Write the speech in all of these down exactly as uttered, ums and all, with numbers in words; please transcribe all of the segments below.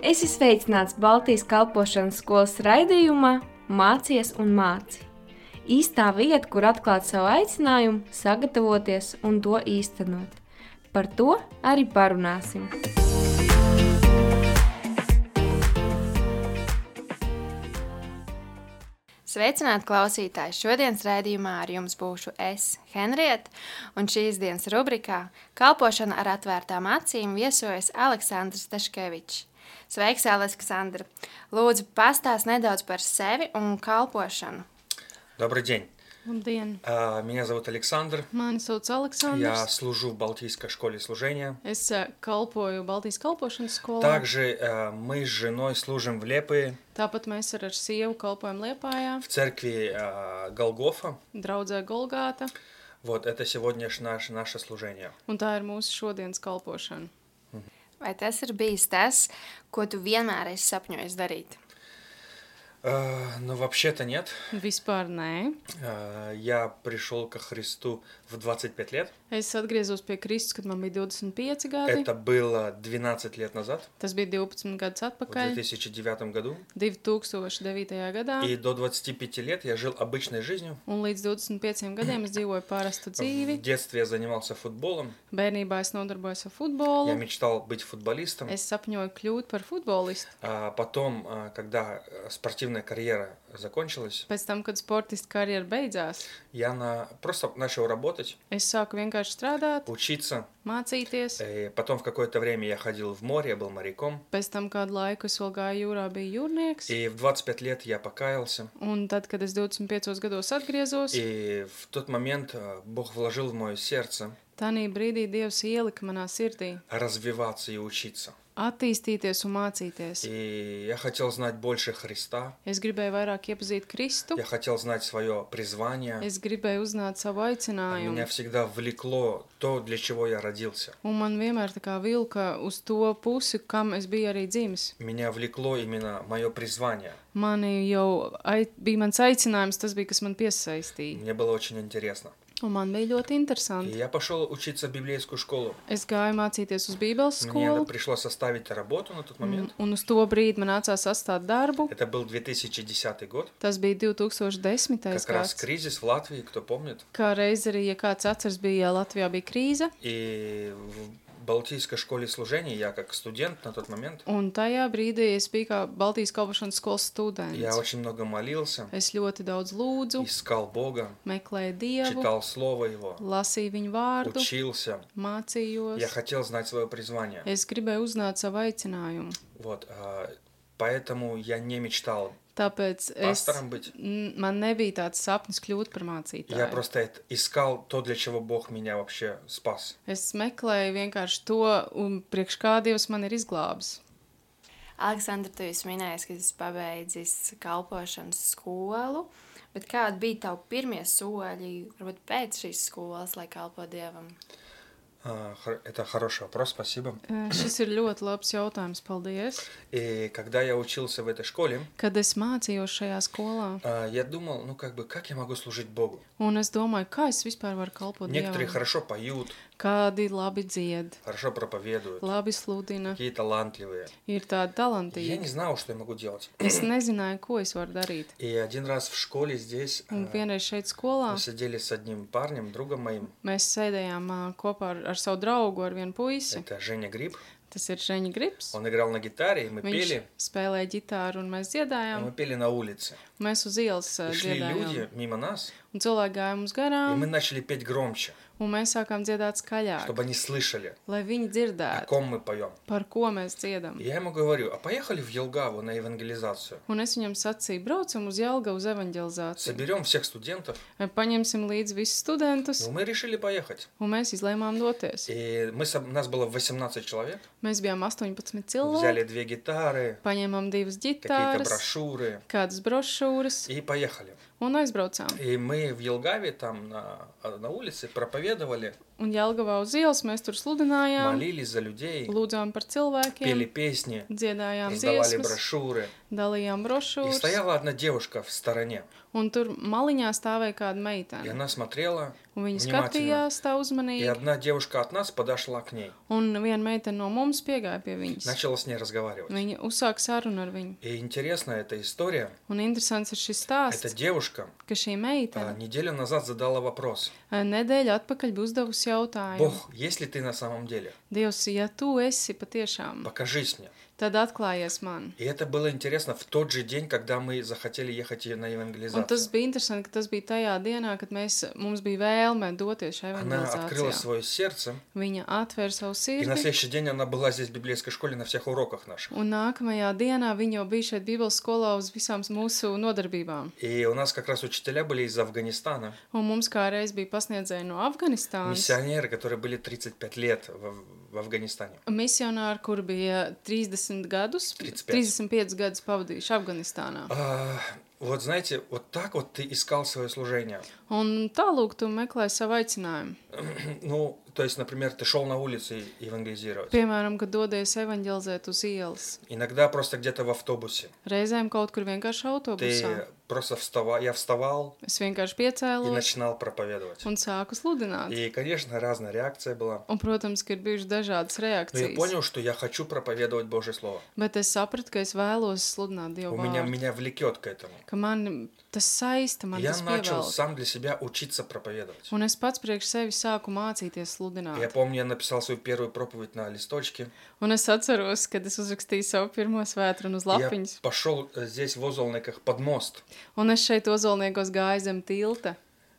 Esi sveicināts Baltijas kalpošanas skolas raidījumā Mācies un māci. Īstā vieta, kur atklāt savu aicinājumu, sagatavoties un to īstenot. Par to arī parunāsim. Sveicināti klausītāji! Šodienas raidījumā ar jums būšu es, Henrieta, un šīs dienas rubrikā Kalpošana ar atvērtām acīm viesojas Aleksandrs Taškevičs. Sveiks, Aleksandra! Lūdzu, pastāst nedaudz par sevi un kalpošanu. Добрый день. Labdien. Меня зовут Александр. Mani sauc Aleksandrs. Я служу в Балтийской школе служения. Es kalpoju Baltijas kalpošanas skolā. Также мы с женой служим в Лепое. Tāpat mēs ar sievu kalpojam Liepājā. В церкви Голгофа. Draudzē Golgāta. Вот это сегодня наше, наше служение. Un tā ir mūsu šodienas kalpošana. Vai tas ir bijis tas, ko tu vienmēr esi sapņojis darīt? Uh, ну, вообще-то нет. Vispār nē. Uh, я пришел ко Христу в двадцать пять лет. Es atgriezos pie Kristus, kad man bija divdesmit pieci gadi. Это было двенадцать лет назад. Tas bija divpadsmit gadus В atpakaļ. две тысячи девятом году. divi tūkstoši devītajā gadā. И до двадцати пяти лет я жил обычной жизнью. Un līdz divdesmit pieciem gadiem es dzīvoju parastu В dzīvi. детстве я занимался футболом. Bērnībā es nodarbojos ar Я futbolu. мечтал быть футболистом. Es sapņoju kļūt par futbolistu. А потом, когда спортивная карьера закончилась, Pēc tam, kad sportista karjera beidzās, я на... просто начал работать, es sāku vienkārši strādāt, учиться. mācīties. И потом в какое-то время я ходил в море, я был моряком. Pēc tam kādu laiku es vēl gāju jūrā, biju jūrnieks. И в двадцать пять лет я покаялся. Un tad, kad es divdesmit piecos gados atgriezos, И в тот момент Бог вложил в мое сердце tanī brīdī Dievs ielika manā sirdī развиваться и учиться. attīstīties un mācīties. И я хотел знать больше Христа. Es gribēju vairāk iepazīt Kristu. Я хотел знать свое призвание. Es gribēju uzzināt savu aicinājumu. Меня всегда влекло то, для чего я родился. Un man vienmēr tā kā vilka uz to pusi, kam es biju arī dzimis. Меня влекло именно мое призвание. Mani jau ai, bija mans aicinājums, tas bija, kas man piesaistīja. Мне было очень интересно. Un man bija ļoti И interesanti. я пошел учиться в библейскую школу. Es gāju mācīties uz Bībeles Мне skolu. пришлось оставить работу на тот Un, момент. un uz to brīdi man nācās atstāt darbu. Это был две тысячи десятый год. Tas bija divi tūkstoši desmitais Как раз gads. кризис в Латвии, кто помнит. Kā reiz arī, ja kāds atceras, bija Latvijā bija krīze. И в Балтийской школе служения я как студент на тот момент. Un tajā brīdī es biju kā Baltijas kalpošanas skolas Я students. очень много молился, Es ļoti daudz lūdzu, искал Бога, meklēju Dievu, читал Слово Его, lasīju viņu vārdu, учился. mācījos. Я хотел знать свое призвание. Es gribēju uzzināt savu aicinājumu. Вот, а, поэтому я не мечтал Tāpēc es, пастором быть. n- man nebija tāds sapnis kļūt par Я mācītāju. просто это- искал то, для чего Бог меня вообще спас. Es meklēju vienkārši to, un priekš kā Dievs man ir izglābis. Aleksandra, tu esi minējis, ka esi pabeidzis kalpošanas skolu, bet kādi bija tavi pirmie soļi, varbūt pēc šīs skolas, lai kalpo Dievam? А, хор- Это хороший вопрос, спасибо. Eh, Šis ir ļoti labs jautājums, paldies. И когда я учился в этой школе, Kad es mācījos šajā skolā, а, я думал, ну как бы, как я могу служить Богу? un es domāju, kā es vispār varu kalpot Некоторые Dievam. хорошо поют, Kādi labi dzied, хорошо проповедуют, labi sludina, какие талантливые. ir tādi Я talantīgi. не знал, что я могу делать. Es nezināju, ko es varu darīt. И один раз в школе здесь Un а, vienreiz šeit skolā мы сидели с одним парнем, другом моим. mēs sēdējām ā, kopā ar, ar savu draugu, ar vienu puisi. Это Женя Гриб. Tas ir Žeņa Grips. Он играл на гитаре, и мы Viņš пели. spēlēja ģitāru un mēs И dziedājām. мы пели на улице. Mēs uz ielas ā, И шли dziedājām. люди мимо нас, Un cilvēki gāja mums и garām, мы начали петь громче, un mēs sākām dziedāt skaļāk, чтобы они слышали, lai viņi о dzirdētu, ком мы поем. par ko mēs dziedam. И я ему говорю, а поехали в Елгаву на евангелизацию. Un es viņam sacīju, braucam uz Jelgavu uz evanģelizāciju. Соберем всех студентов. Paņemsim līdzi visus studentus, Ну, мы решили поехать. un mēs izlēmām doties. И мы, соб- нас было восемнадцать человек. Mēs bijām astoņpadsmit Взяли cilvēki, две гитары, paņēmām divas какие-то ģitāras, брошюры kādas brošūras и поехали. un aizbraucām. И мы в Елгаве там на, на улице проповедовали. Un Jelgavā uz ielas mēs tur sludinājām, молились за людей, lūdzām par cilvēkiem, пели песни, dziedājām раздавали dziesmas, брошюры. dalījām И brošūras, стояла одна девушка в стороне. un tur maliņā stāvēja kāda И meitene. она смотрела Un viņa внимательно. skatījās tā И uzmanīgi, одна девушка от нас подошла к ней. un viena meitene no mums piegāja pie viņas. Начала с ней разговаривать. Viņa uzsāka sarunu ar viņu. И интересная эта история. Un interesants ir šis Эта stāsts, девушка ka šī а, meitene неделю назад задала вопрос. nedēļu atpakaļ bija uzdevusi jautājumu. Бог, есть ли ты на самом деле? Dievs, ja tu esi patiešām, Покажись мне. tad atklājies man. И это было интересно в тот же день, когда мы захотели ехать на Un tas евангелизацию. bija interesanti, ka tas bija tajā dienā, kad mēs, mums bija vēlme doties šajā Она открыла evangelizācijā. свое сердце, Viņa atvēra savu и на sirdi, следующий день она была здесь в библейской школе на всех уроках наших. un nākamajā dienā viņa jau bija šeit Bībeles skolā uz visām mūsu nodarbībām. И у нас как раз учителя были из Афганистана, Un mums kā reiz bija pasniedzēji no Afganistānas, миссионеры, которые были тридцать пять лет в, в Афганистане. misionāri, kur bija trīsdesmit gadus, тридцать пять. trīsdesmit piecus gadus pavadījuši Afganistānā. А, вот знаете, вот так вот ты искал свое служение. Un tālūk tu meklē savu aicinājumu. Ну, то есть, например, ты шел на улице евангелизировать. Piemēram, kad dodies evaņģelizēt uz ielas. Иногда просто где-то в автобусе. Reizēm kaut kur vienkārši autobusā. Ты просто вставал, я вставал Es vienkārši и piecēlos начинал проповедовать. un sāku sludināt. И, конечно, разная реакция была. Un, protams, ka ir bijušas dažādas Но я reakcijas. понял, что я хочу проповедовать Божье Слово. Bet es sapratu, ka es vēlos sludināt Dievu У меня, vārdu. меня vлекет к этому. Ka man tas saista, man Я tas начал pievelk. сам для себя учиться проповедовать. Un es pats priekš sevi sāku mācīties Я sludināt. помню, я написал свою первую проповедь на листочке. Un es atceros, kad es uzrakstīju savu pirmo svētru uz И Я lapiņas. пошел э, здесь в Озолниках под мост. Un es šeit ozolniekos gāju zem tilta.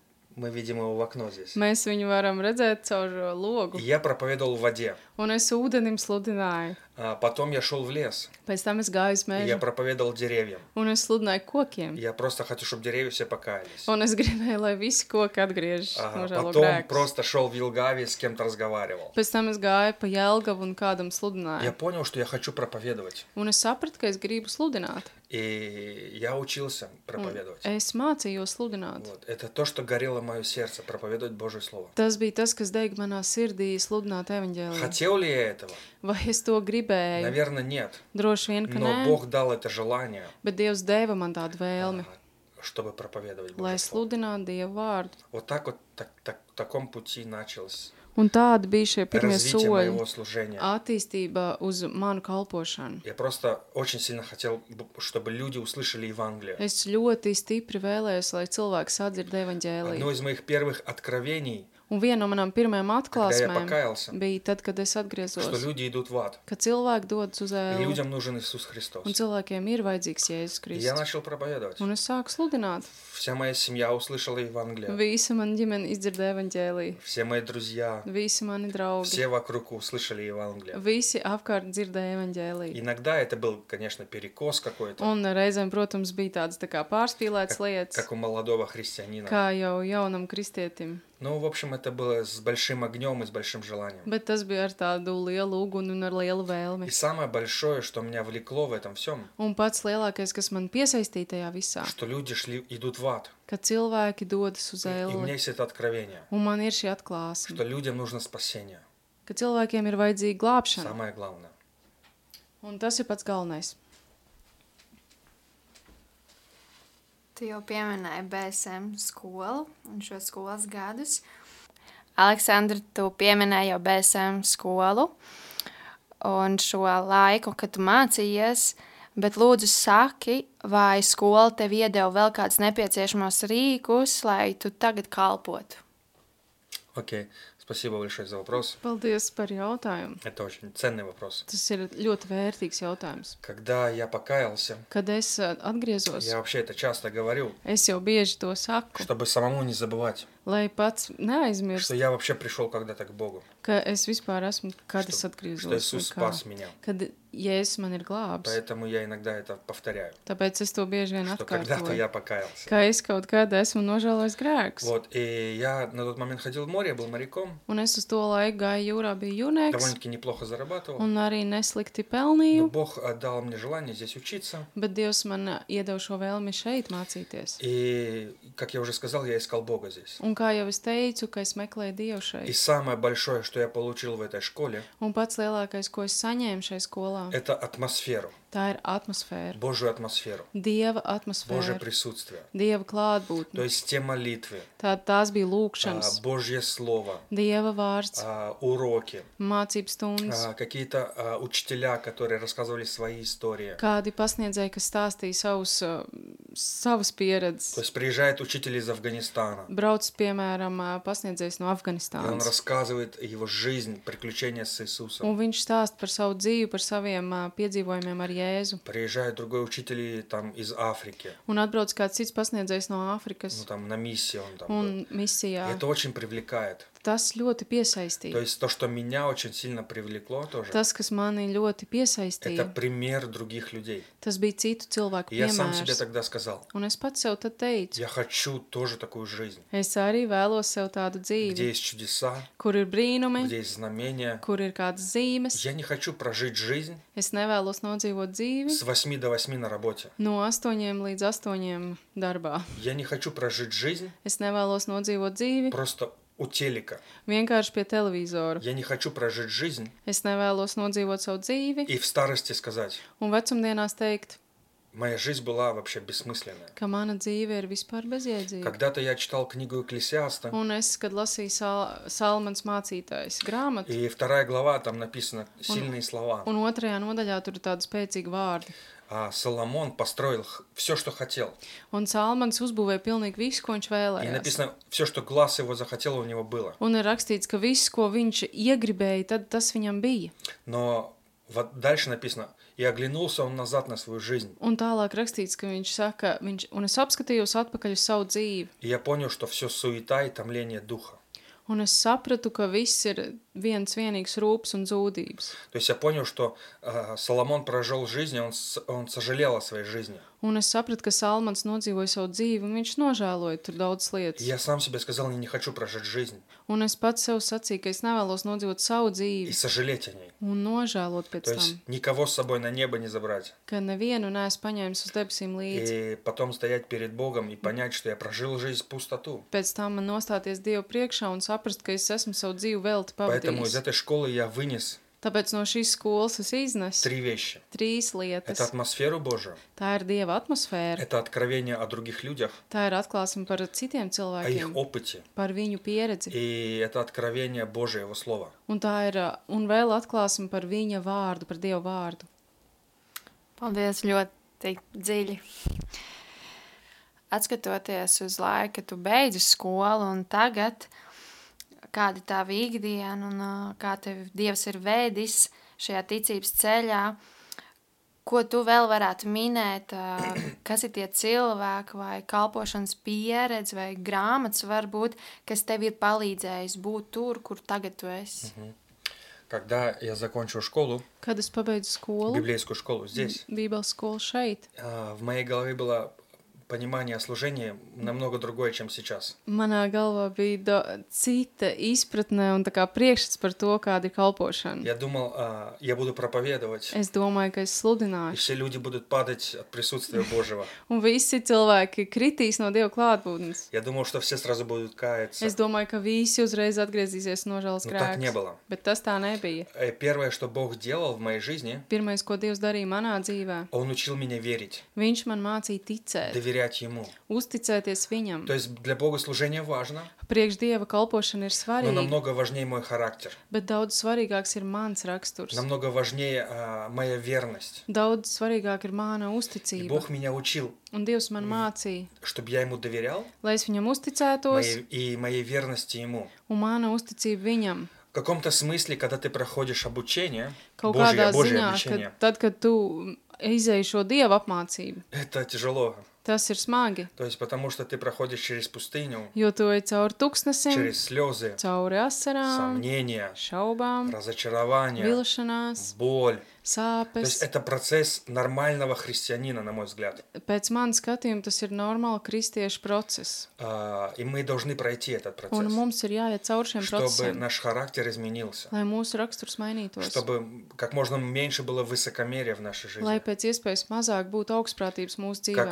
Мы видим его в окно здесь. Mēs viņu varam redzēt caur uh, logu. И я проповедовал в воде. Un es ūdenim sludināju. А потом я шел в лес. Pēc tam es gāju uz И я mežu. проповедовал деревьям. Un es sludināju kokiem. Я просто хочу, чтобы деревья все покаялись. Un es gribēju, lai visi koki atgriežas Ага, no žēlo Потом grēkus. просто шел в Вилгаве, с кем-то разговаривал. Pēc tam es gāju pa Jelgavu un kādam Я sludināju. понял, что я хочу проповедовать. Un es sapratu, ka es gribu sludināt. И я учился Un проповедовать. es mācījos sludināt. Вот. Это то, что горело мое сердце, проповедовать Божье Слово. Tas bija tas, kas deg manā sirdī sludināt evaņģēliju. Хотел ли я этого? Vai es to gribēju? Наверное, нет. Droši vien, ka Но nē, Бог дал это желание, bet Dievs deva man tādu vēlmi, а, чтобы проповедовать lai Божье Слово. sludinātu Dievu vārdu. Вот так вот, так, так, в таком пути началось Un tādi bija šie pirmie развитие soļi моего служения. attīstība uz manu kalpošanu. Я просто очень сильно хотел, б- чтобы люди услышали Евангелие. Es ļoti stipri vēlējos, lai cilvēki sadzird Одно evaņģēliju. из моих первых откровений, Un viena no manām pirmajām когда я atklāsmēm покаялся, bija tad, kad es что atgriezos, люди идут в ад, ka cilvēki dodas uz и ēlu, людям нужен Иисус Христос. un cilvēkiem ir vajadzīgs Jēzus И я Kristus. начал проповедовать. Un es sāku sludināt. Вся моя семья услышала Евангелие. Visa mana ģimene izdzirdēja evaņģēliju. Все мои друзья, Visi mani draugi. все вокруг услышали Евангелие. Visi apkārt dzirdēja evaņģēliju. Иногда это был, конечно, перекос какой-то, Un reizēm, protams, bija tādas tā kā pārspīlētas lietas, как у молодого христианина. kā jau jaunam kristietim. Ну, в общем, это было с большим огнем и с большим желанием. Bet tas bija ar tādu lielu uguni un ar lielu И vēlmi. самое большое, что меня влекло в этом всем, Un pats lielākais, kas man piesaistīja tajā visā, что люди шли, идут в ад. ka cilvēki dodas uz И у меня ēli. есть это откровение, Un man ir šī atklāsme, что людям нужно спасение. ka cilvēkiem ir vajadzīga glābšana. Самое главное. Un tas ir pats galvenais. Tu jau pieminēji B S M skolu un šo skolas gadus. Aleksandra, tu pieminēji jau B S M skolu un šo laiku, kad tu mācījies, bet lūdzu saki, vai skola tev iedeva vēl kāds nepieciešamos rīkus, lai tu tagad kalpotu? Окей, спасибо большое за вопрос. Paldies par jautājumu. Это очень ценный вопрос. Tas ir ļoti vērtīgs jautājums. Когда я покаялся, Kad es ā, atgriezos, я вообще это часто говорю, es jau bieži to saku, чтобы самому не забывать, lai pats neaizmirst, что я вообще пришел когда-то к Богу, ka es vispār esmu, kad es что, atgriezos, что vai Иисус kā. спас меня. Kad Jēzus man ir glābs. Поэтому я иногда это повторяю, Tāpēc es to bieži vien что когда-то atkārtoju, я покаялся. ka es kaut kad esmu nožēlojis grēkus. Вот, и я на тот момент ходил в море, я был моряком, Un es uz to laiku gāju jūrā, biju jūrnieks, довольно-таки неплохо зарабатывал, un arī neslikti но pelnīju, Бог э, дал мне желание здесь учиться, bet Dievs man iedeva šo vēlmi šeit mācīties. и, как я уже сказал, я искал Бога здесь. Un kā jau es teicu, ka es meklēju Dievu И šeit. самое большое, что я получил в этой школе, Un pats lielākais, ko es saņēmu šai skolā, это атмосферу, tā ir atmosfēra. Божью атмосферу, Dieva Божье atmosfēra, присутствие. Dieva То klātbūtne. есть те молитвы, Tā, tās bija а, lūkšanas, Божье Слово, Dieva vārds, а, уроки, mācības stundas, а, какие-то а, учителя, которые рассказывали свои истории. kādi pasniedzēji, kas stāstīja savus, uh, savas То pieredzes. есть приезжает учитель из Афганистана, Brauc, piemēram, ā, pasniedzējs no и он Afganistānas. рассказывает его жизнь, приключения с Иисусом. Un viņš stāsta par savu dzīvi, par saviem ā, piedzīvojumiem ar Jēzu. Приезжает другой учитель и там из Африки, Un atbrauc kāds cits pasniedzējs no ну Āfrikas там на миссии он там был. un И misijā. это очень привлекает. Tas ļoti То piesaistīja. есть то, что меня очень сильно привлекло тоже, Tas, kas mani ļoti это piesaistīja, пример других людей. tas bija citu cilvēku И я сам себе piemērs. тогда сказал, Un es pats sev tad teicu, я хочу тоже такую жизнь, es arī vēlos sev tādu где dzīvi, есть чудеса, kur ir brīnumi, где есть знамения. kur ir kādas zīmes. Я не хочу прожить жизнь Es nevēlos nodzīvot dzīvi с восьми до восьми на работе. no astoņiem līdz astoņiem darbā. Я не хочу прожить жизнь Es nevēlos nodzīvot dzīvi просто у телека. vienkārši pie televizora. Я не хочу прожить жизнь Es nevēlos nodzīvot savu dzīvi и в старости сказать, un vecumdienās teikt, моя жизнь была вообще бессмысленная. ka mana dzīve ir vispār bezjēdzīga. Когда-то я читал книгу Экклесиаста, Un es, kad lasīju Sal Salmans mācītājs grāmatu, и вторая глава, там написано сильные слова. un otrajā nodaļā tur ir tādi spēcīgi vārdi. А Соломон построил все, что хотел. Un Salmans uzbūvēja pilnīgi visu, ko viņš И vēlējās. написано, все, что глаз его захотел, у него было. Un ir rakstīts, ka viss, ko viņš iegribēja, tad tas viņam bija. Но вот дальше написано, и оглянулся он назад на свою жизнь. Un tālāk rakstīts, ka viņš saka, viņš, un es apskatījos atpakaļ uz savu dzīvi. И я понял, что все суета и томление духа. Un es sapratu, ka viss ir viens vienīgs rūps un zūdības. То есть я понял, что э, Соломон прожил жизнь, и он, с- он сожалел о своей жизни. Un es sapratu, ka Salmans nodzīvoja savu dzīvi, un viņš nožēloja tur daudz И lietas. я сам себе сказал, я не хочу прожить жизнь Un es pats sev sacīju, ka es nevēlos nodzīvot savu и dzīvi сожалеть о ней. un nožēlot pēc То есть tam, никого с собой на небо не забрать. ka nevienu neesmu paņēmis uz debesīm līdzi. И потом стоять перед Богом и понять, что я прожил жизнь в пустоту. Pēc tam man nostāties Dievu priekšā un saprast, ka es esmu savu dzīvi velti Поэтому из pavadījis. этой школы я вынес Tāpēc no šīs skolas es iznesu три вещи. trīs Это lietas. атмосферу Божию, Tā ir Dieva atmosfēra, это откровение о других людях, tā ir atklāsme par citiem о их cilvēkiem, опыте, par viņu pieredzi. и это откровение Божие, Его Слова. Un tā ir, ā, un vēl atklāsim par viņa vārdu, par Dieva vārdu. Paldies, ļoti dziļi. Atskatoties uz laiku, kad tu beidzi skolu un tagad, kāda ir tava ikdiena un ā, kā tev Dievs ir vēdis šajā ticības ceļā, ko tu vēl varētu minēt, ā, kas ir tie cilvēki vai kalpošanas pieredze vai grāmatas varbūt, kas tev ir palīdzējis būt tur, kur tagad tu esi. Когда я закончил школу, Kad es pabeidzu skolu, библейскую школу здесь, Bībeles skolu šeit, а, в моей голове было понимание о служении намного другое, чем сейчас. manā galvā bija do, cita izpratne un tā kā priekšstats par to, kāda ir kalpošana. Я думал, а, я буду проповедовать, Es domāju, ka es и sludināšu, все люди будут падать от присутствия Божьего. un visi cilvēki kritīs no Dieva klātbūtnes. Я думал, что все сразу будут каяться. Es domāju, ka visi uzreiz atgriezīsies no nožēlas Но так не grēkus. было. Bet tas tā nebija. Э, Первое, что Бог делал в моей жизни, Pirmais, ko Dievs darīja manā dzīvē, Он учил меня верить, Viņš man mācīja ticēt, доверять Ему. uzticēties Viņam. То есть для Богослужения важно, Priekš Dieva kalpošana ir но svarīga, намного важнее мой характер. bet daudz svarīgāks ir mans raksturs. Намного важнее а, моя верность. Daudz svarīgāk ir mana И uzticība. Бог меня учил, Un Dievs man mācīja, чтобы я Ему доверял, lai es Viņam uzticētos моей- и моей верности Ему. un mana uzticība Viņam. В каком-то смысле, когда ты проходишь обучение, Kaut Божье, kādā Божье ziņā, обучение, ka tad, kad tu izēji šo Dieva apmācību, это тяжело. tas ir smagi, То есть потому что ты проходишь через пустыню, jo tu ej cauri tuksnesim, через слезы, cauri asarām, сомнения, šaubām, разочарование, vilšanās, боль. То есть sāpes. это процесс нормального христианина, на мой взгляд. Pēc manas skatījuma tas ir normāli kristiešu process. А, И мы должны пройти этот Un процесс, mums ir jāiet cauri šiem чтобы procesiem, наш характер изменился, lai mūsu raksturs mainītos. чтобы как можно меньше было высокомерия в нашей Lai жизни, pēc iespējas mazāk būtu augstprātības mūsu как dzīvē. можно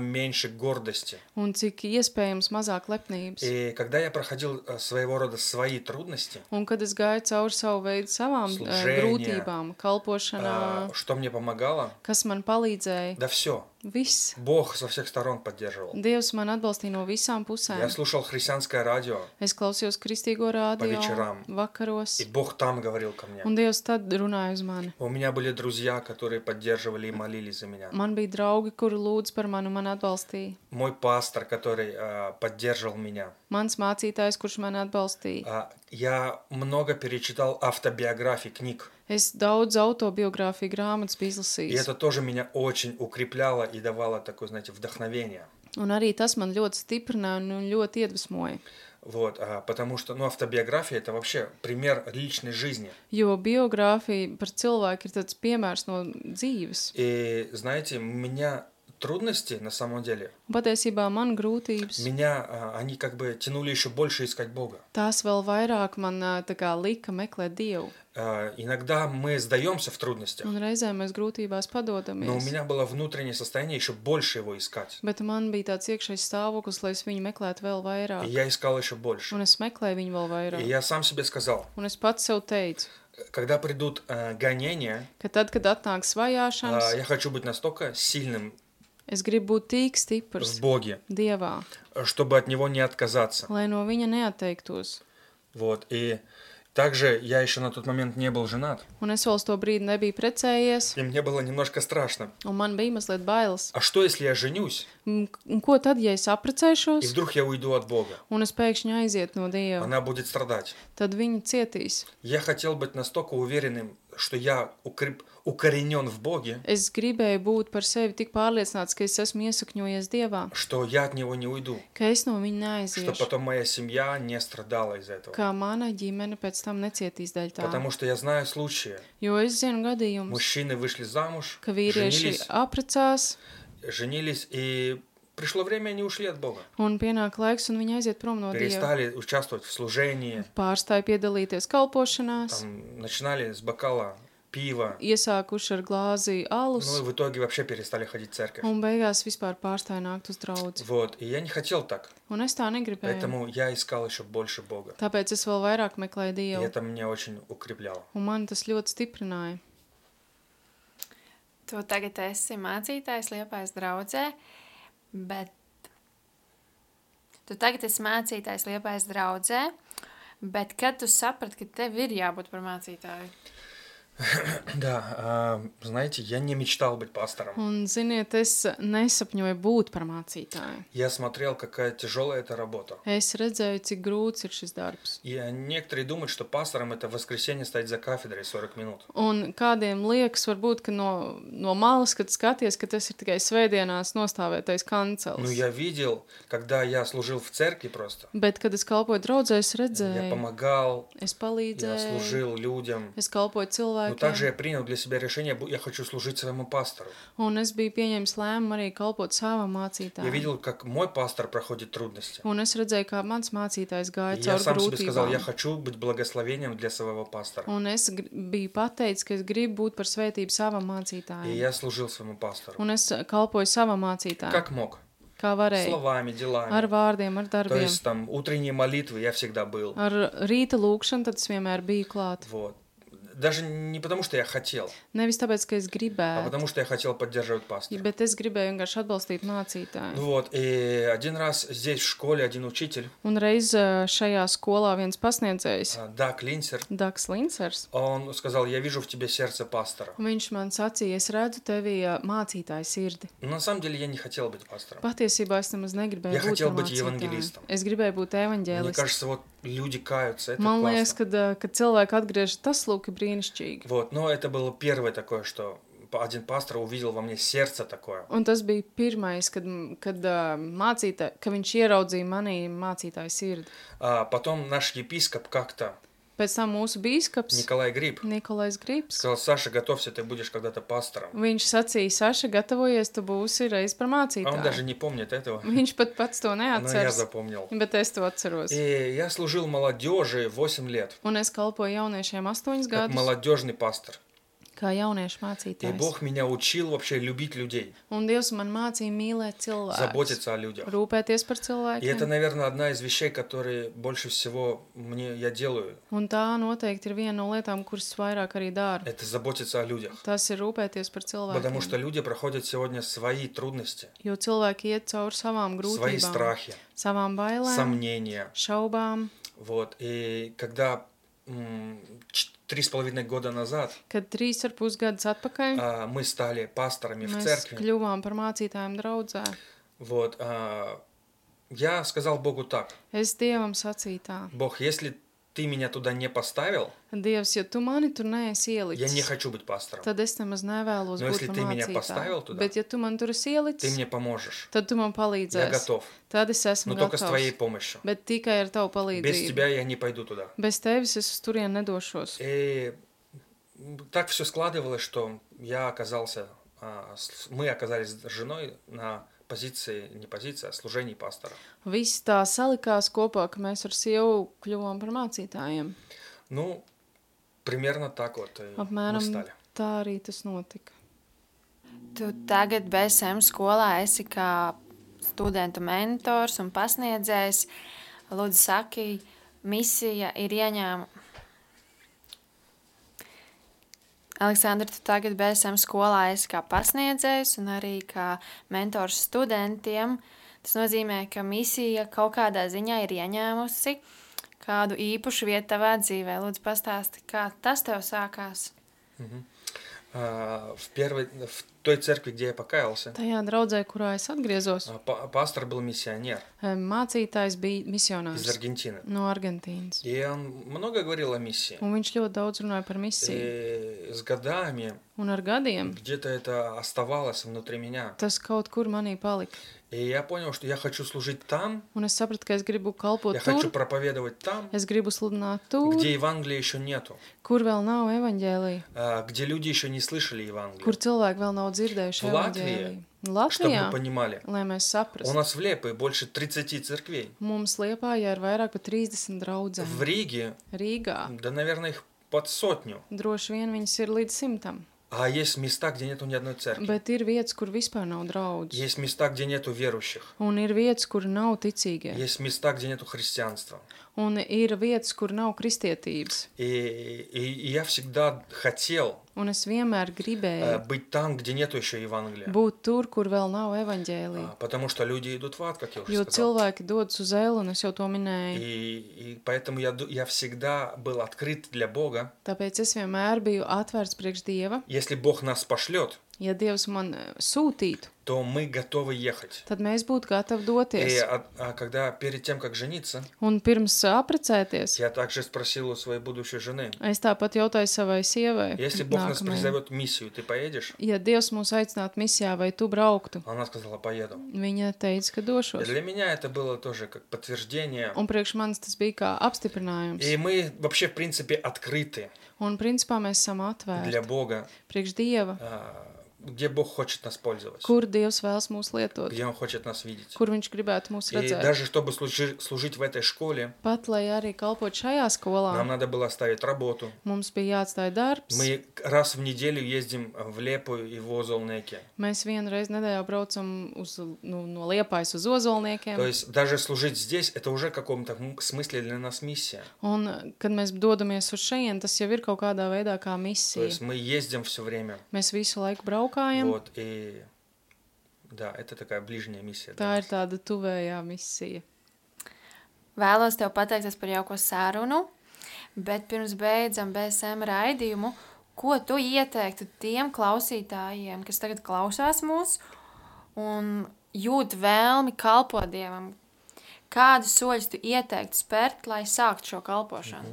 меньше гордости. Un cik iespējams mazāk lepnības. И когда я проходил э, своего рода свои трудности, Un kad es gāju cauri savu veidu savām uh, Служение. grūtībām, kalpošanā, а, что мне помогало? kas man palīdzēja, Да все. viss. Бог со всех сторон поддерживал. Dievs man atbalstīja no visām Я pusēm. слушал христианское радио, Es klausījos kristīgo rādio вечерам. vakaros, и Бог там говорил ко мне. un Dievs tad runāja uz mani. У меня были друзья, которые поддерживали и молились за меня. Man bija draugi, kuri lūdz par mani un man atbalstīja. Мой пастор, который а, поддерживал меня. Mans mācītājs, kurš mani atbalstīja. А, я много перечитал автобиографий, книг. Es daudz autobiogrāfiju grāmatas biju И izlasījis. это тоже меня очень укрепляло и давало такое, знаете, вдохновение. Un arī tas man ļoti stiprināja un ļoti iedvesmoja. Вот, а, потому что, ну, автобиография это вообще пример личной жизни. Jo biogrāfija par cilvēku ir tāds piemērs no dzīves. И, знаете, у меня трудности, на самом деле, Un patiesībā man grūtības, меня, а, они как бы тянули еще больше искать Бога. tās vēl vairāk man ā, tā kā lika meklēt Dievu. А, иногда мы сдаемся в трудностях, Un reizēm mēs grūtībās но у padodamies. меня было внутреннее состояние еще больше его искать. Bet man bija tāds iekšējs stāvoklis, lai es viņu meklētu vēl И vairāk. я искал еще больше. Un es meklēju viņu vēl И vairāk. я сам себе сказал, Un es pats sev teicu, когда придут э, гонения, ka tad, kad atnāks а, vajāšanas, я хочу быть настолько сильным es gribu būt tik в stiprs Боге, Dievā, чтобы от Него не отказаться. lai no viņa neatteiktos. Вот. И также я еще на тот момент не был женат. Un es vēl uz to brīdi nebiju precējies, И мне было немножко страшно. un man bija mazliet bailes. А что, если я женюсь, Un, un ko tad, ja es и apprecēšos, вдруг я уйду от Бога? un es pēkšņi aizietu no Dieva? Она будет страдать. Tad viņa cietīs. Я хотел быть настолько уверенным, что я укреп... укоренен в Боге, Es gribēju būt par sevi tik pārliecināts, ka es esmu iesakņojies Dievā, что я от Него не уйду, ka es no viņa что neaiziešu, потом моя семья не страдала из-за этого. ka mana ģimene pēc tam necietīs dēļ tā. Потому что я знаю случаи. Jo es zinu gadījumus, Мужчины вышли замуж, ka vīrieši женились, apprecās, женились, и пришло время, они ушли от Бога. un pienāk laiks, un viņi aiziet prom no Dieva. Перестали участвовать в служении, Pārstāja piedalīties kalpošanās, там, начинали с бокала пива, iesākuši ar glāzi alus, ну и в итоге вообще перестали ходить в церковь. un beigās vispār pārstāja nākt uz draudzi. Вот, и я не хотел так, Un es tā negribēju. поэтому я искал еще больше Бога. Tāpēc es vēl vairāk meklēju И Dievu, это меня очень укрепляло. un man tas ļoti stiprināja. Tu tagad esi mācītājs Liepājas draudzē, bet tu tagad esi mācītājs Liepājas draudzē, bet kad tu saprati, ka tev ir jābūt par mācītāju? Да, а, знаете, я не мечтал быть пастором. Un, ziniet, es nesapņoju būt par mācītāju. Я смотрел, какая тяжелая эта работа. Es redzēju, cik grūts ir šis darbs. И некоторые думают, что пастором это в воскресенье стоять за кафедрой сорок минут. Un kādiem liekas, varbūt, ka no, no malas, kad skaties, ka tas ir tikai svētdienās nostāvētais kancels. Ну, я видел, когда я служил в церкви просто. Bet, kad es kalpoju draudzē, es Я redzēju, помогал, es я palīdzēju, служил людям. es kalpoju Но также cilvēkiem. я принял для себя решение, бу- я хочу служить своему пастору. Un es biju pieņēmis lēmumu arī kalpot savam Я mācītājam. видел, как мой пастор проходит трудности. Un es redzēju, kā mans mācītājs И gāja я caur сам себе сказал, я grūtībām. хочу быть благословением для своего пастора. Un es gr- biju pateicis, ka es gribu būt par svētību savam И mācītājam. я служил своему пастору. Un es kalpoju savam mācītājam, Как мог. kā varēju. Словами, делами. Ar vārdiem, ar То darbiem. есть там утренние молитвы я всегда был. Ar rīta lūkšanu tad es vienmēr biju klāt. Вот. Даже не потому, что я хотел, Nevis tāpēc, ka es а gribēju, потому, что я хотел поддерживать пастора. bet es gribēju vienkārši atbalstīt mācītāju. Вот. И один раз здесь в школе один учитель, Un reiz ā, šajā skolā viens pasniedzējs, а, Даг Линцер, Daks Lincers, он сказал, я вижу в тебе сердце пастора. viņš man sacīja, es redzu tevī ā, mācītāju sirdi. Но на самом деле я не хотел быть пастором. Patiesībā es nemaz negribēju Я būt хотел par быть mācītāju. евангелистом. Es gribēju būt Мне evaņģēlistam. кажется, вот люди каются, это Man liekas, классно. kad, ā, kad cilvēki atgriežas, tas lūk ir brīnišķīgi. Вот. Но это было первое такое, что один пастор увидел во мне сердце такое. Un tas bija pirmais, kad, kad ā, mācītā, ka viņš ieraudzīja manī mācītāju sirdi. А потом наш епископ как-то, Pēc tam mūsu bīskaps, Николай Гриб, Nikolais Grips, сказал, Саша, готовься, ты будешь когда-то пастором. viņš sacīja, Saša, gatavojies, tu būsi reiz par А он даже mācītāju. не помнит этого, Viņš pat pats to но я neatceras, запомнил. bet es to atceros. И я служил молодежи восемь лет, Un es kalpoju jauniešiem astoņus как gadus, молодежный пастор. kā jauniešu И mācītājs. Бог меня учил вообще любить людей, Un Dievs man mācīja mīlēt cilvēkus, заботиться о людях. rūpēties par И это, cilvēkiem. наверное, одна из вещей, которые больше всего мне я делаю. Un tā noteikti ir viena no lietām, kuras vairāk arī daru. Это заботиться о людях. Tas ir rūpēties par Потому что cilvēkiem. люди проходят сегодня свои трудности, Jo cilvēki iet cauri savām свои grūtībām, страхи, savām bailēm, сомнения. šaubām. Вот. И когда м, ч- три с половиной года назад Kad trīs ar pus gadus atpakaļ а, мы стали пасторами в mēs церкви, kļuvām par mācītājiem draudzē, вот, а, я сказал Богу так: es Dievam sacīju tā: Бог, если ты меня туда не поставил, Dievs, ja tu mani tur neesi я не ielicis, хочу быть пастором. tad es nemaz nevēlos Но būt если par ты меня поставил mācītāju. туда, Bet ja tu man tur esi Ты ielicis, мне поможешь. tad tu man Я palīdzēsi. готов. Tad es esmu Но только с твоей gatavs. помощью. Bet tikai ar tavu Без palīdzību. тебя я не пойду туда. Bez tevis es uz turieni nedošos. И так все складывалось, что я оказался, а, с- мы оказались с женой на позиции, не позиции, а служении пастора. Viss tā salikās kopā, ka mēs ar sievu kļuvām par mācītājiem. Ну, примерно так вот и мы Apmēram стали. tā arī tas notika. Tu tagad B S M skolā esi kā studentu mentors un pasniedzējs. Lūdzu, saki, misija ir ieņēma. Aleksandra, tu tagad B S M skolā esi kā pasniedzējs un arī kā mentors studentiem. Tas nozīmē, ka misija kaut kādā ziņā ir ieņēmusi kādu īpašu vietu tavā dzīvē. Lūdzu, pastāsti, kā tas tev sākās. Мгм. А, В первой, в той церкви, где я покаялся, Tajā draudzē, kurā es atgriezos, а, па- пастор был миссионер mācītājs bija из misionārs Аргентины. no Argentīnas. И он много говорил о миссии. Un viņš ļoti daudz runāja par misiju. И с годами Un ar gadiem где-то это оставалось внутри меня. tas kaut kur manī palika. И я понял, что я хочу служить там, Un es sapratu, ka es gribu kalpot я хочу tur, проповедовать там, es gribu sludināt tur, где Евангелия еще нету, kur vēl nav evaņģēlija, а, где люди еще не слышали kur Евангелие. cilvēki vēl nav dzirdējuši В Латвии, evaņģēliju. Чтобы Latvijā, вы понимали, lai mēs у saprastu, нас в Лепе больше тридцати церквей. mums Liepājā ir vairāk par trīsdesmit В draudzēm. Риге, Rīgā да, наверное, их под сотню. droši vien viņas ir līdz simtam, А есть места, где нету ни одной церкви. bet ir vietas, kur vispār nav draudz. Есть места, где нету верующих. Un ir vietas, kur nav ticīgie. Есть места, где нету христианства. Un ir vietas, kur nav kristietības. И, и, и я всегда хотел Un es vienmēr э, gribēju быть там, где нету еще Евангелия. būt tur, kur vēl nav evaņģēlija. А, Потому что люди идут в ад, как я уже Jo сказал. cilvēki dodas uz elu, un es jau to minēju. И, и поэтому я, ду- я всегда был открыт для Бога. Tāpēc es vienmēr biju atvērts priekš Dieva. Если Бог нас пошлет, Ja Dievs man eh, sūtītu, то мы готовы ехать. tad mēs būtu gatavi И doties. а, а когда перед тем, как жениться, Un pirms apprecēties, я также спросил у своей будущей жены, es tāpat jautāju savai sievai, если Бог нас nākamajai, призовет в миссию, ты поедешь? ja Dievs mūs aicinātu misijā, vai tu brauktu? Она сказала, поеду. Viņa teica, ka И došos. для меня это было тоже как подтверждение. Un priekš manis tas bija kā apstiprinājums. И мы вообще, в принципе, открыты Un principā mēs esam для atvērti Бога, priekš Dieva, а, где Бог хочет нас пользовать, kur Dievs vēlas mūs lietot, где Он хочет нас видеть. kur Viņš gribētu mūs И redzēt. даже чтобы служи- служить в этой школе, Pat, lai arī kalpot šajā skolā, нам надо было оставить работу. mums bija jāatstāj darbs. Мы раз в неделю ездим в Лепу и в Озолнеке. Mēs vienu reizi nedēļā braucam uz, nu, no Liepājas uz Ozolniekiem. То есть даже служить здесь, это уже в каком-то м- смысле для нас миссия. Un, kad mēs dodamies uz šejien, tas jau ir kaut kādā veidā kā То misija. есть мы ездим все время. Mēs visu laiku braukājam. Вот, и да, это такая ближняя миссия. для Tā ir нас. tāda tuvējā misija. Vēlos tev pateikties par jauko sarunu, bet pirms beidzam B S M raidījumu, ko tu ieteiktu tiem klausītājiem, kas tagad klausās mūs un jūt vēlmi kalpot Dievam? Kādus soļus tu ieteiktu spērt, lai sāktu šo kalpošanu?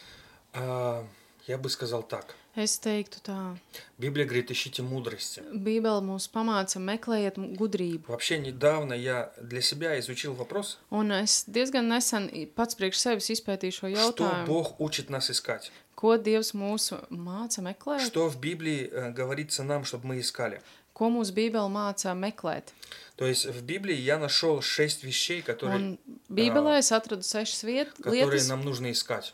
А, я бы сказал так. Es teiktu tā. Библия говорит, ищите мудрости. Bībele mūs pamāca meklējiet gudrību. Вообще недавно я для себя изучил вопрос, Un es diezgan nesen pats priekš sevis izpētīju šo что jautājumu. Бог учит нас искать. Ko Dievs mūs māca meklēt? Что в Библии э, говорится нам, чтобы мы искали. Ko mūsu Bībele māca meklēt? То есть в Библии я нашел шесть вещей, которые, Un Bībelē es atradu sešas viet, которые lietas, нам нужно искать.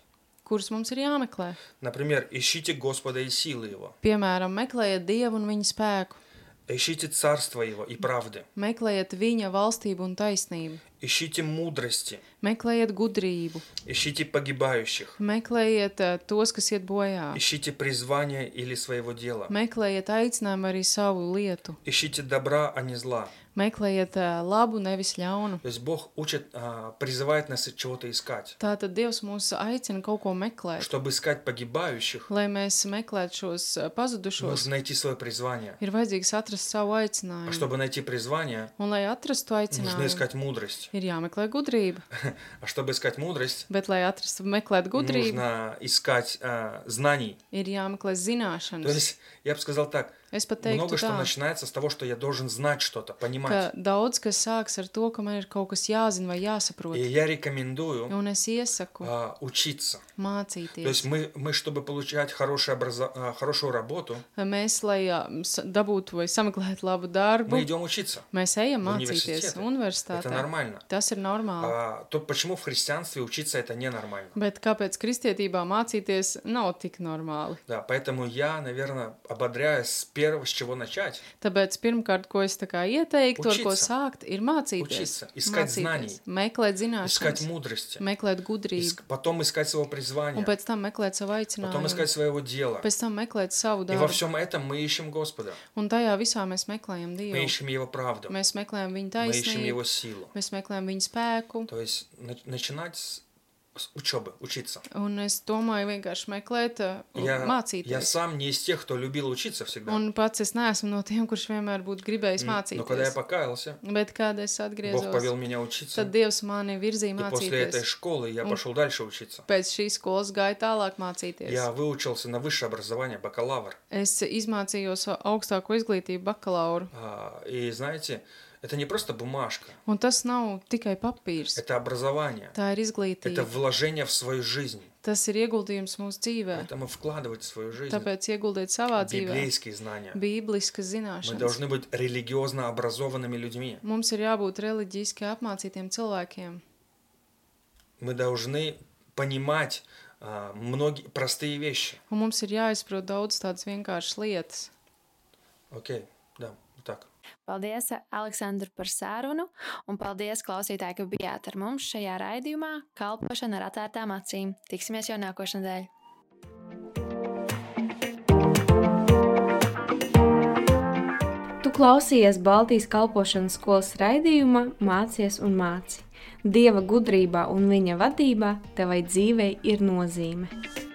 kurus mums ir jāmeklē. Например, ищите Господа и силы Его. Piemēram, meklējiet Dievu un viņa spēku. Ищите царство Его и правды. Meklējiet viņa valstību un taisnību. Ищите мудрости. Meklējiet gudrību. Ищите погибающих. Meklējiet uh, tos, kas iet bojā. Ищите призвание или своего дела. Meklējiet aicinājumu arī savu lietu. Ищите добра, а не зла. Meklējiet uh, labu, nevis ļaunu. То есть Бог учит, а, призывает нас чего-то искать. Tātad Dievs mūs aicina kaut ko meklēt. Чтобы искать погибающих, Lai mēs meklētu šos uh, pazudušos, нужно найти свое призвание. ir vajadzīgs atrast savu А aicinājumu. чтобы найти призвание, Un, lai atrastu нужно aicinājumu, искать мудрость. ir jāmeklē gudrība. А чтобы искать мудрость, Bet, lai atrastu meklēt gudrību, нужно искать а, знаний. ir jāmeklē То zināšanas. есть, я бы сказал так, Es pat teiktu много что tā, начинается с того, что я должен знать что-то, ka понимать. daudz kas sāks ar to, ka man ir kaut kas jāzina vai И jāsaprot. я рекомендую Un es iesaku а, учиться. То mācīties. есть мы, мы чтобы получать хорошее образо- а, хорошую работу, Mēs, lai ā, s- dabūtu vai sameklētu labu darbu, мы идем учиться. mēs ejam В mācīties университеты. Это universitātē. нормально. Tas ir normāli. А, то почему в христианстве учиться это ненормально? Bet kāpēc kristietībā mācīties nav tik normāli? Да, поэтому я, наверное, ободряю с первого, с чего начать. Tāpēc pirmkārt, ko es tā kā ieteiktu, ar ko Учиться. sākt, ir mācīties. Учиться. Искать знаний. Meklēt Искать zināšanas, мудрости. meklēt gudrību, Иск- Потом искать своего un призвания. pēc tam meklēt savu Потом aicinājumu, искать своего дела. pēc tam meklēt savu И во darbu. всем этом мы ищем Господа. Un tajā visā mēs meklējam Мы Dievu. ищем Его правду. Mēs meklējam viņa Мы ищем taisnību, Его силу. mēs meklējam viņa spēku. То есть на- начинать с, с учебы, учиться. Un es domāju vienkārši meklēt, uh, Я, я mācīties. сам не из тех, кто любил учиться всегда. Un pats es neesmu no tiem, kurš vienmēr būtu gribējis М, Но когда я mācīties. покаялся, Bet, kad es Бог atgriezos, повел меня учиться. tad Dievs mani virzīja И после этой mācīties. школы я Un- пошел дальше учиться. Pēc šīs skolas gāju tālāk mācīties. Я выучился на высшее образование, бакалавр. Es izmācījos augstāko izglītību bakalauru. А, И знаете, это не просто бумажка, Un tas nav tikai papīrs. это образование, Tā ir это izglītība. вложение в свою жизнь. Tas ir ieguldījums mūsu dzīvē. Поэтому вкладывать в свою жизнь Tāpēc ieguldiet savā dzīvē библейские знания. bībliskas Мы zināšanas. должны быть религиозно образованными людьми. Mums ir jābūt reliģiski apmācītiem cilvēkiem. Мы должны понимать а, многие простые вещи. Un mums ir jāizprot daudz tādas vienkāršas lietas. Окей, да, вот так. Paldies, Aleksandr, par sarunu, un paldies, klausītāji, ka bijāt ar mums šajā raidījumā Kalpošana ar atvērtām acīm. Tiksimies jau nākošnedēļ! Tu klausījies Baltijas kalpošanas skolas raidījumā Mācies un māci. Dieva gudrībā un viņa vadībā tevai dzīvei ir nozīme.